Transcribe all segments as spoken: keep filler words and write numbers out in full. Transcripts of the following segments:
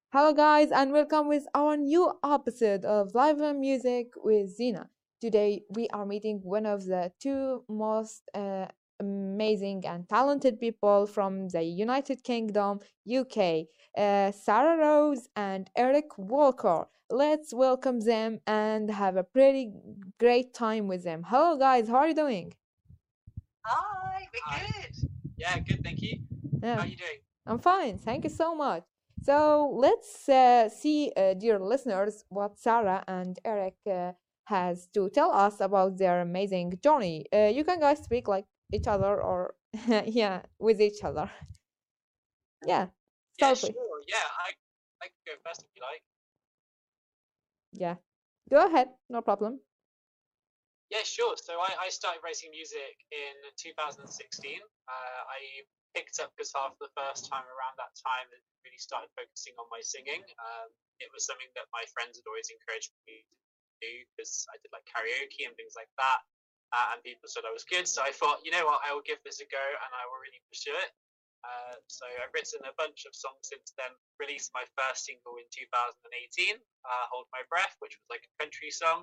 Hello, guys, and welcome with our new episode of Live Music with Zina. Today, we are meeting one of the two most uh, amazing and talented people from the United Kingdom, U K, uh, Sarah Rose and Eric Walker. Let's welcome them and have a pretty great time with them. Hello, guys, how are you doing? Hi, we're Hi. good. Yeah, good, thank you. How Yeah. are you doing? I'm fine, thank you so much. So let's uh, see, uh, dear listeners, what Sarah and Eric uh, has to tell us about their amazing journey. Uh, you can guys speak like each other or yeah, with each other. Yeah, Yeah, start please. sure. Yeah, I I can go first if you like. Yeah, go ahead, no problem. Yeah, sure. So I, I started writing music in two thousand sixteen. Uh, I picked up guitar for the first time around that time and really started focusing on my singing. Um, it was something that my friends had always encouraged me to do because I did like karaoke and things like that. Uh, and people said I was good. So I thought, you know what, I will give this a go and I will really pursue it. Uh, so I've written a bunch of songs since then. Released my first single in two thousand eighteen, uh, "Hold My Breath," which was like a country song.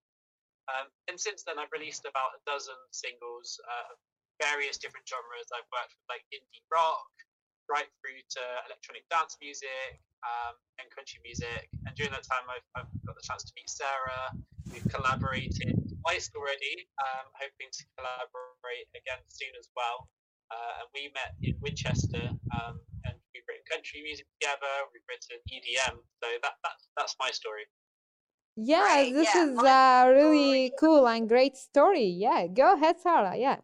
Um, and since then, I've released about a dozen singles, uh, of various different genres. I've worked with like indie rock, right through to electronic dance music, um, and country music. And during that time, I've, I've got the chance to meet Sarah. We've collaborated twice already, um, hoping to collaborate again soon as well. Uh, and we met in Winchester, um, and we've written country music together. We've written E D M. So that that's that's my story. Yeah, Great. this Yeah, is my a story. really cool and great story. Yeah, go ahead, Sarah. Yeah.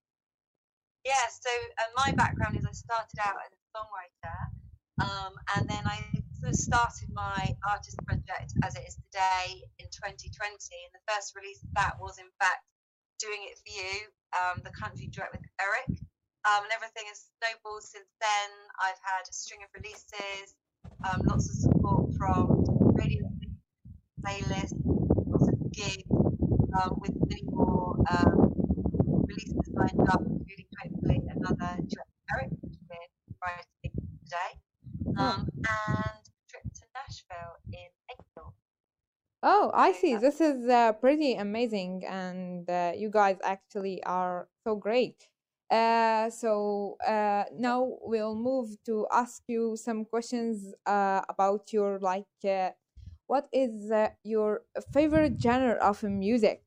Yeah, so uh, my background is I started out as a songwriter, um, and then I sort of started my artist project as it is today in twenty twenty. And the first release of that was, in fact, Doing It For You, um, the country duet with Eric. Um, and everything has snowballed since then. I've had a string of releases, um, lots of support from radio playlists, lots of gigs, um, with many more um, releases lined up, including hopefully another duet with Eric, which we're writing today, Oh. um, and a trip to Nashville in April. Oh, So I see. that's This is uh, pretty amazing, and uh, you guys actually are so great. Uh, so uh, now we'll move to ask you some questions uh, about your like, uh, what is uh, your favorite genre of music?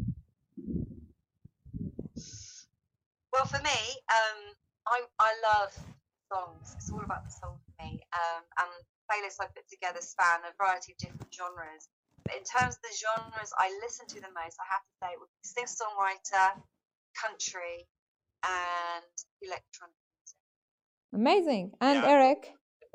well for me. Um, I I love songs. It's all about the song for me. Um, and playlists I put together span a variety of different genres. But in terms of the genres I listen to the most, I have to say it would be singer songwriter, country, and electronic music. Amazing. And Yeah, Eric?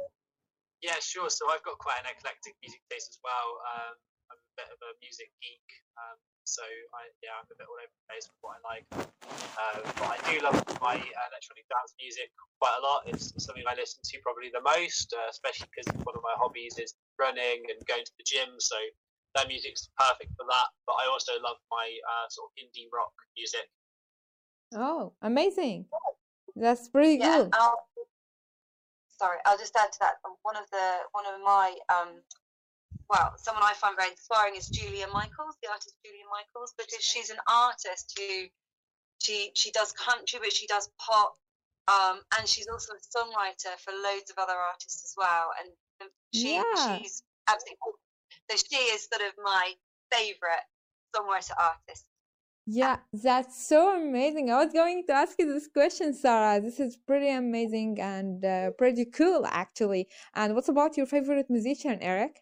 yeah, sure. So I've got quite an eclectic music taste as well. Um, I'm a bit of a music geek. Um, so I, yeah, I'm a bit all over the place with what I like. Um, but I do love my uh, electronic dance music quite a lot. It's something I listen to probably the most, uh, especially because one of my hobbies is running and going to the gym. So that music's perfect for that. But I also love my uh, sort of indie rock music. Oh, amazing. That's pretty Yeah, and cool. I'll, sorry, I'll just add to that. One of the one of my um, well, someone I find very inspiring is Julia Michaels, the artist Julia Michaels, because she's an artist who she she does country, but she does pop, um, and she's also a songwriter for loads of other artists as well. And she Yeah. she's absolutely so she is sort of my favorite songwriter artist. Yeah, that's so amazing. I was going to ask you this question, Sarah. This is pretty amazing and uh, pretty cool, actually. And what about your favorite musician, Eric?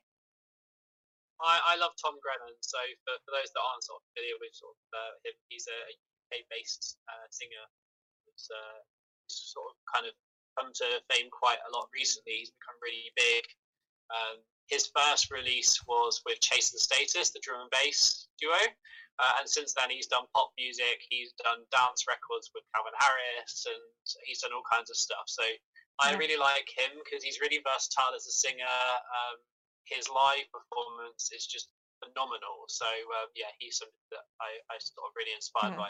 I, I love Tom Grennan. So for, for those that aren't sort of familiar with sort of uh, him, he's a U K-based uh, singer who's uh, sort of kind of come to fame quite a lot recently. He's become really big. Um, his first release was with Chase the Status, the drum and bass duo. Uh, and since then, he's done pop music, he's done dance records with Calvin Harris, and he's done all kinds of stuff. So I Yeah. really like him because he's really versatile as a singer. Um, his live performance is just phenomenal. So um, yeah, he's something that I, I sort of really inspired Yeah. by.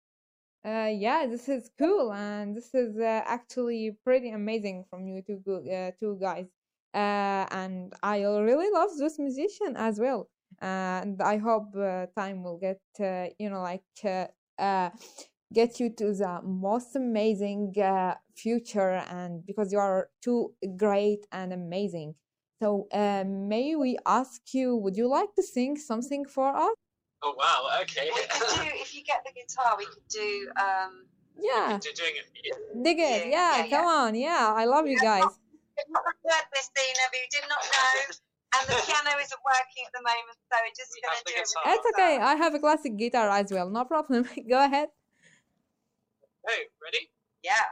Uh, yeah, this is cool, and this is uh, actually pretty amazing from you two, go- uh, two guys. uh, and I really love this musician as well. And I hope uh, time will get uh, you know like uh, uh, get you to the most amazing uh, future, and because you are too great and amazing. So uh, may we ask you, would you like to sing something for us? Oh wow, okay. We could do, if you get the guitar, we could do, um, Yeah, You're doing it. Yeah. dig it. yeah, Yeah, yeah, come yeah. on. Yeah, I love you guys. We did not record this, Dina, but we did not know. And the piano isn't working at the moment, so we're just We going have to the do it. with guitar. the It's okay. guitar. I have a classic guitar as well. No problem. Go ahead. Hey, ready? Yeah.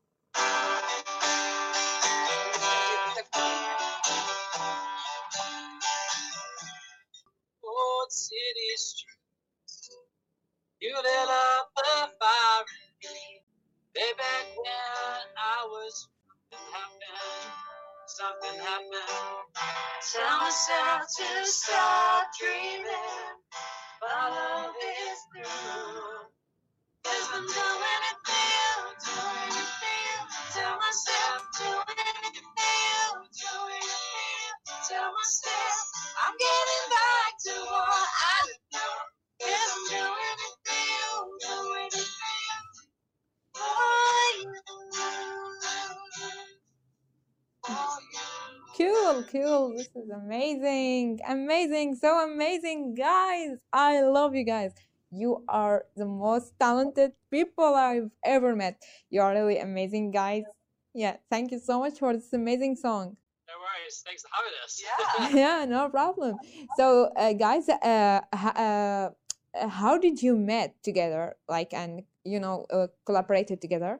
Old city streets, you lit up the fire. Way back when I was something happened, something happened. Tell myself to stop dreaming, but love is through. Cause I'm doing it for you, doing it for you. Tell myself, doing it for you, doing it for you. Tell myself, I'm getting back to what I know. Cause I'm doing it for you, doing it for you. For you. For you. Cool, cool. This is amazing. Amazing. So amazing, guys. I love you guys. You are the most talented people I've ever met. You are really amazing, guys. Yeah, thank you so much for this amazing song. No worries, thanks for having us. Yeah. Yeah, no problem. So, uh, guys, uh, h- uh, uh, how did you met together? Like, and you know, uh, collaborated together?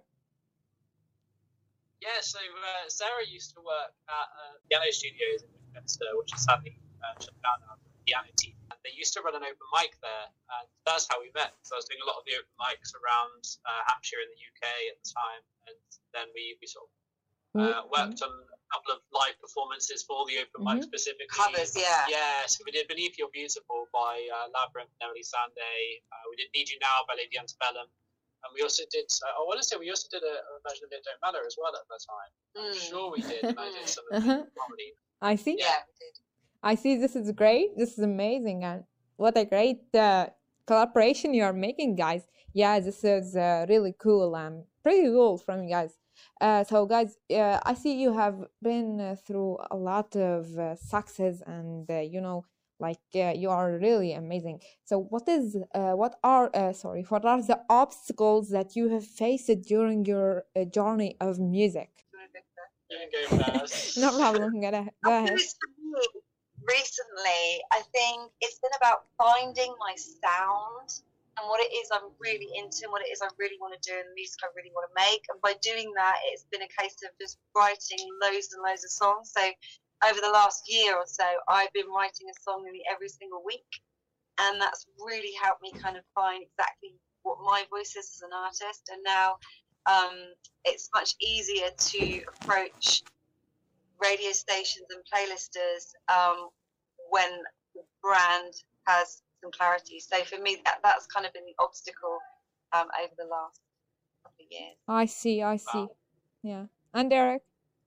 Yeah, so uh, Sarah used to work at uh, Piano Studios in Winchester, which is sadly uh, shut down now, the piano team. And they used to run an open mic there, and that's how we met. So I was doing a lot of the open mics around uh, Hampshire in the U K at the time, and then we, we sort of uh, worked on a couple of live performances for the open mic Mhm. specifically. Covers, yeah. Yeah, so we did Beneath You're Beautiful by uh, Labyrinth and Emily Sandé. Uh, we did Need You Now by Lady Antebellum. And we also did, uh, I want to say we also did a, a version of It Don't Matter as well at that time. I'm Mm. sure we did, and I did some of the Uh-huh. comedy. I see. Yeah, we did. I see. This is great. This is amazing, and what a great uh, collaboration you are making, guys. Yeah, this is uh, really cool and pretty cool from you guys. Uh, so, guys, uh, I see you have been uh, through a lot of uh, success, and uh, you know, like uh, you are really amazing. So, what is, uh, what are, uh, sorry, what are the obstacles that you have faced during your uh, journey of music? You can go first. No problem. Go ahead. Go I ahead. think it's for me, recently, I think it's been about finding my sound and what it is I'm really into and what it is I really want to do and the music I really want to make. And by doing that, it's been a case of just writing loads and loads of songs. So over the last year or so, I've been writing a song nearly every single week. And that's really helped me kind of find exactly what my voice is as an artist. And now um, it's much easier to approach radio stations and playlisters um, when the brand has some clarity. So for me, that, that's kind of been the obstacle um, over the last couple of years. I see. I see. Wow. Yeah. And Derek?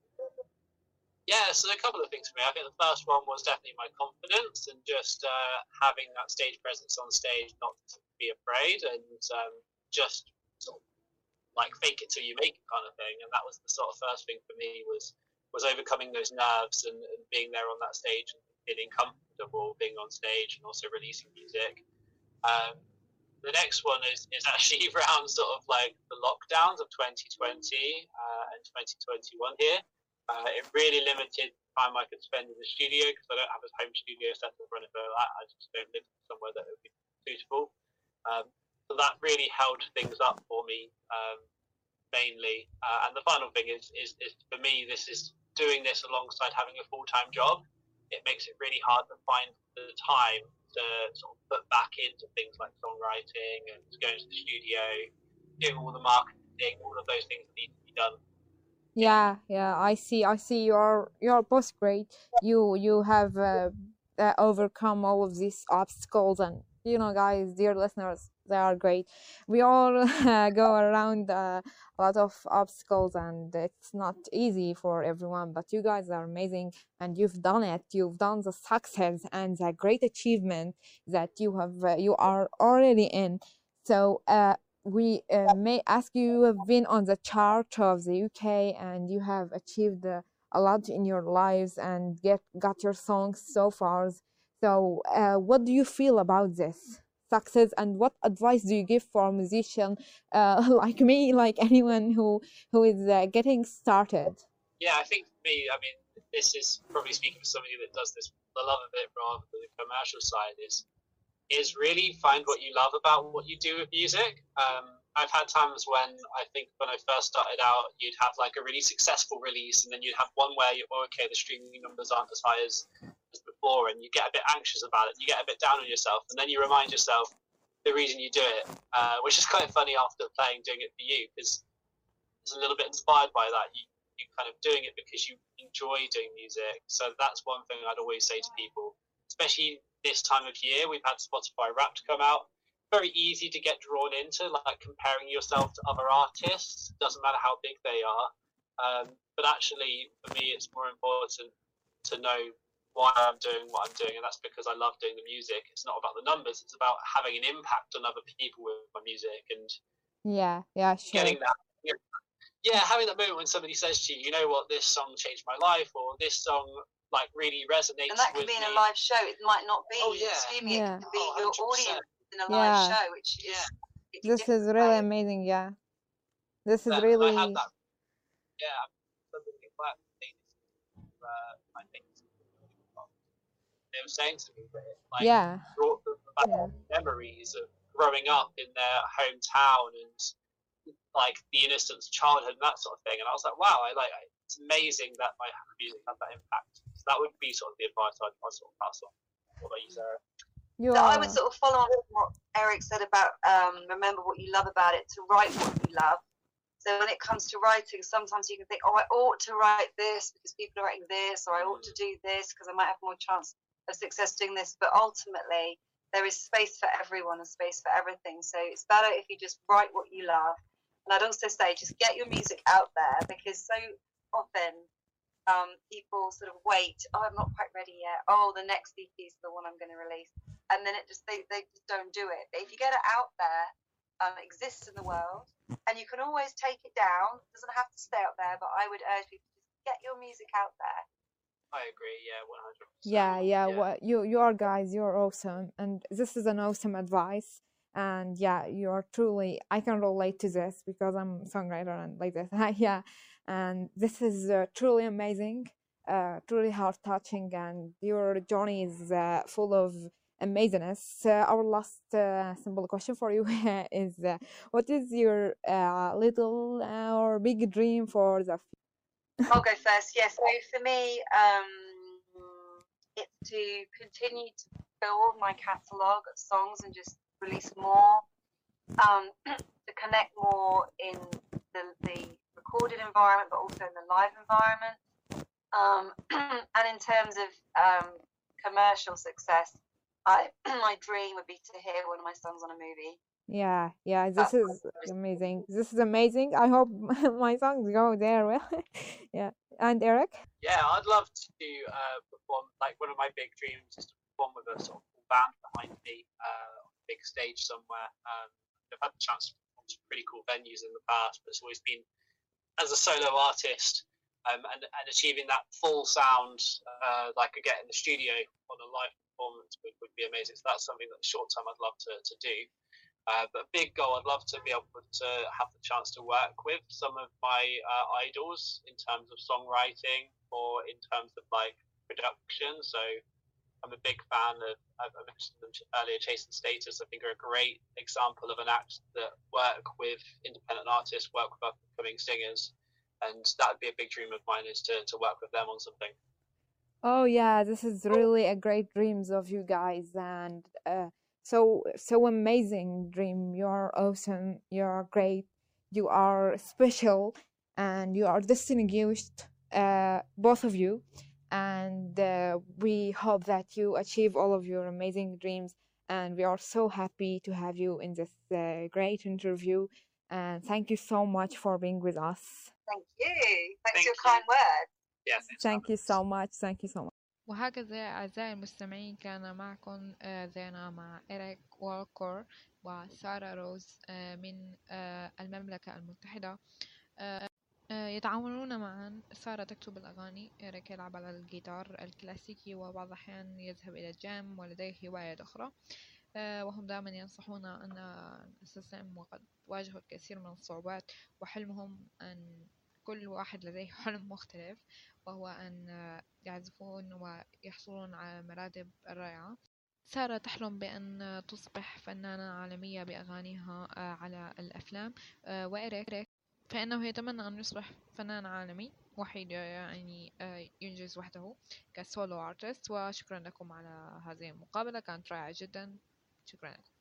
Yeah, so a couple of things for me. I think the first one was definitely my confidence and just uh, having that stage presence on stage, not to be afraid, and um, just sort of like fake it till you make it kind of thing. And that was the sort of first thing for me was was overcoming those nerves and, and being there on that stage and feeling comfortable being on stage and also releasing music. Um, the next one is, is actually around sort of like the lockdowns of twenty twenty uh, and twenty twenty-one here. Uh, it really limited the time I could spend in the studio because I don't have a home studio set up or anything like that. I just don't live somewhere that would be suitable. Um, so that really held things up for me um, mainly. Uh, and the final thing is, is, is for me, this is doing this alongside having a full-time job. It makes it really hard to find the time to sort of put back into things like songwriting and going to the studio, doing all the marketing, all of those things that need to be done. Yeah, yeah, I see. I see. You're you're both great. You you have uh, uh, overcome all of these obstacles, and you know, guys, dear listeners, they are great. We all uh, go around uh, a lot of obstacles, and it's not easy for everyone. But you guys are amazing, and you've done it. You've done the success and the great achievement that you have. Uh, you are already in. So uh, we uh, may ask you. You have been on the chart of the U K, and you have achieved uh, a lot in your lives and get got your songs so far. So, uh, what do you feel about this success, and what advice do you give for a musician uh, like me, like anyone who who is uh, getting started? Yeah, I think for me, I mean, this is probably speaking for somebody that does this for the love of it rather than the commercial side. Is is really find what you love about what you do with music. Um, I've had times when I think when I first started out, you'd have like a really successful release, and then you'd have one where you, oh, okay, the streaming numbers aren't as high as, as before, and you get a bit anxious about it. You get a bit down on yourself, and then you remind yourself the reason you do it, uh, which is kind of funny after playing doing it for you, because it's a little bit inspired by that. You you kind of doing it because you enjoy doing music. So that's one thing I'd always say to people, especially this time of year. We've had Spotify Wrapped come out. Very easy to get drawn into, like comparing yourself to other artists. Doesn't matter how big they are. Um, but actually, for me, it's more important to know why I'm doing what I'm doing, and that's because I love doing the music. It's not about the numbers. It's about having an impact on other people with my music, and yeah, yeah, sure. getting that. Yeah, having that moment when somebody says to you, you know what, this song changed my life, or this song like really resonates. And that could with be in me. a live show. It might not be oh, yeah. streaming. Yeah. It could be oh, your audience in a live yeah. show, which is yeah. This is really amazing. Yeah, this is that, really. I had that. Yeah, something like uh, I think they were saying to me that it, like yeah. brought them back Yeah. memories of growing up in their hometown and like the innocence of childhood and that sort of thing. And I was like, wow, I like it's amazing that my music had that impact. So that would be sort of the advice I'd, I'd sort of pass on. What about you, Sarah? You So are. I would sort of follow on with what Eric said about um, remember what you love about it, to write what you love. So when it comes to writing, sometimes you can think, oh, I ought to write this because people are writing this, or I ought to do this because I might have more chance of success doing this. But ultimately, there is space for everyone and space for everything. So it's better if you just write what you love. And I'd also say just get your music out there, because so often um, people sort of wait, oh, I'm not quite ready yet. Oh, the next E P is the one I'm going to release. And then it just they, they just don't do it. But if you get it out there, um, it exists in the world, and you can always take it down. It doesn't have to stay up there, but I would urge people to just get your music out there. I agree, yeah, one hundred percent. Yeah, yeah. Yeah. What you you are guys, you're awesome, and this is an awesome advice. And yeah, you're truly. I can relate to this because I'm a songwriter and like this. Yeah, and this is uh, truly amazing, uh, truly heart touching, and your journey is uh, full of amazingness. Uh, our last uh, simple question for you is: uh, what is your uh, little uh, or big dream for the I'll go first. Yeah, so for me, um, it's to continue to build my catalogue of songs and just release more, um, to connect more in the, the recorded environment, but also in the live environment. Um, and in terms of um, commercial success, I my dream would be to hear one of my songs on a movie. Yeah, yeah, this is amazing. This is amazing. I hope my songs go there well. Yeah. And Eric? Yeah, I'd love to uh, perform, like one of my big dreams is to perform with a sort of full band behind me uh, on a big stage somewhere. Um, I've had the chance to perform some pretty cool venues in the past, but it's always been as a solo artist um, and, and achieving that full sound uh, like I get in the studio on a live performance would, would be amazing. So that's something that short term I'd love to, to do. Uh, but a big goal, I'd love to be able to have the chance to work with some of my uh, idols in terms of songwriting or in terms of like production. So I'm a big fan of, I mentioned them earlier, Chase and Status. I think are a great example of an act that work with independent artists, work with upcoming singers. And that would be a big dream of mine, is to, to work with them on something. Oh yeah, this is really a great dreams of you guys, and uh, so so amazing dream. You are awesome. You are great. You are special, and you are distinguished, uh, both of you. And uh, we hope that you achieve all of your amazing dreams. and we are so happy to have you in this uh, great interview. And thank you so much for being with us. Thank you. Thanks Thank for your you. kind words. Yes. Thank you so much. Thank you so much. وهكذا أعزائي المستمعين كان معكم آه، زينة مع إريك والكور وسارة روز آه، من آه، المملكة المتحدة. آه، آه، يتعاونون معا. سارة تكتب الأغاني، إريك يلعب على الجيتار الكلاسيكي وبعض الأحيان يذهب إلى الجيم ولديه هوايات أخرى. آه، وهم دائما ينصحون أن نستسلم وقد واجهوا الكثير من الصعوبات، وحلمهم أن كل واحد لديه حلم مختلف، وهو أن يعزفون ويحصلون على مراتب الرائعة. سارة تحلم بأن تصبح فنانة عالمية بأغانيها على الأفلام، وإريك فإنه يتمنى أن يصبح فنان عالمي وحيد، يعني ينجز وحده كسولو ارتست. وشكرا لكم على هذه المقابلة، كانت رائعة جدا. شكرا لكم.